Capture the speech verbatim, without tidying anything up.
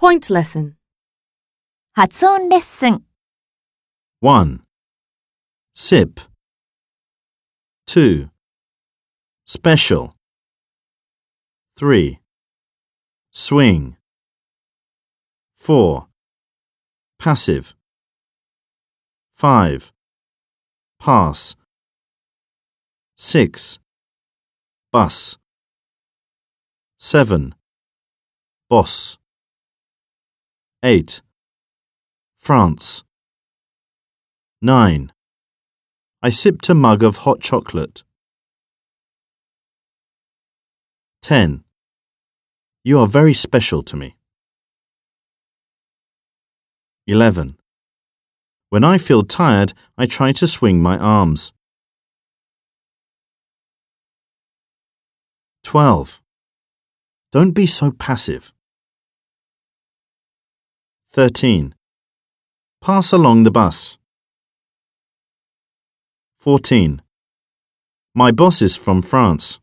Point lesson. 発音レッスン。 one. Sip. two. Special. three. Swing. four. Passive. five. Pass. six. Bus. seven. Boss. eight. France. nine. I sipped a mug of hot chocolate. ten. You are very special to me. eleven. When I feel tired, I try to swing my arms. twelve. Don't be so passive. thirteen. Pass along the bus. fourteen. My boss is from France.